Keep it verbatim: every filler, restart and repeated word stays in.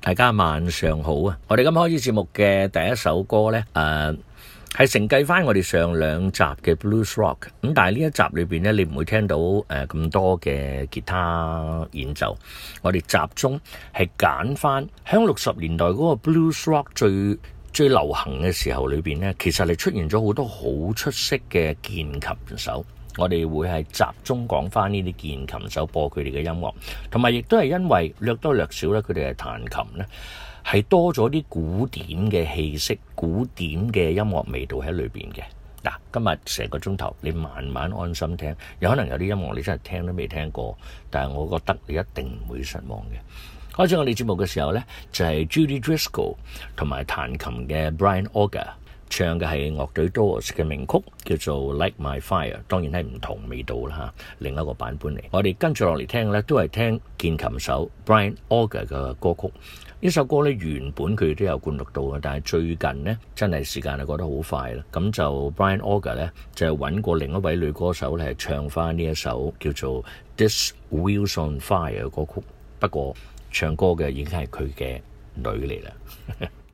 大家晚上好啊！我哋今開始節目嘅第一首歌呢，誒、呃、係承繼翻我哋上兩集嘅 Blues Rock。咁但係呢一集裏邊呢，你唔會聽到誒咁、呃、多嘅吉他演奏。我哋集中係揀翻響六十年代嗰個 Blues Rock 最最流行嘅時候裏邊呢，其實係出現咗好多好出色嘅鍵琴手。我哋會係集中講翻呢啲鍵琴手，播佢哋嘅音樂，同埋亦都係因為略多略少咧，佢哋係彈琴咧，係多咗啲古典嘅氣息、古典嘅音樂味道喺裏邊嘅。嗱，今日成個鐘頭，你慢慢安心聽，有可能有啲音樂你真係聽都未聽過，但係我覺得你一定唔會失望嘅。開始我哋節目嘅時候呢，就係 Judy Driscoll 同埋彈琴嘅 Brian Auger。唱嘅係樂隊 Doors 嘅名曲，叫做 Light My Fire， 當然係唔同味道啦吓，另一個版本嚟。我哋跟住落嚟聽呢，都係聽鍵琴手 Brian Auger 嘅歌曲。呢首歌呢，原本佢都有灌錄到嘅，但係最近呢，真係時間係過得好快啦。咁就 Brian Auger 呢，就揾過另一位女歌手咧，係唱翻呢一首叫做 This Wheels on Fire 嘅歌曲。不過唱歌嘅已經係佢嘅女嚟啦。